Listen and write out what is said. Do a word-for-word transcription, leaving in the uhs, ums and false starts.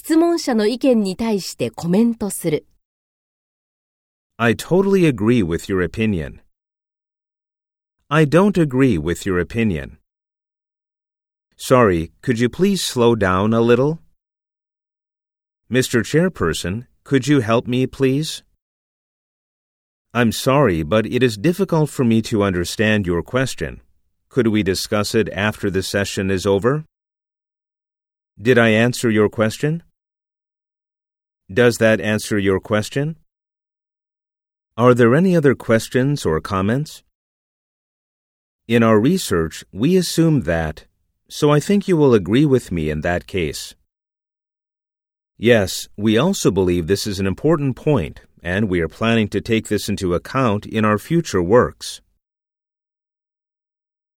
質問者の意見に対してコメントする。 I totally agree with your opinion. I don't agree with your opinion. Sorry, could you please slow down a little? Mister Chairperson, could you help me, please? I'm sorry, but it is difficult for me to understand your question. Could we discuss it after the session is over? Did I answer your question? Does that answer your question? Are there any other questions or comments? In our research, we assumed that, so I think you will agree with me in that case. Yes, we also believe this is an important point, and we are planning to take this into account in our future works.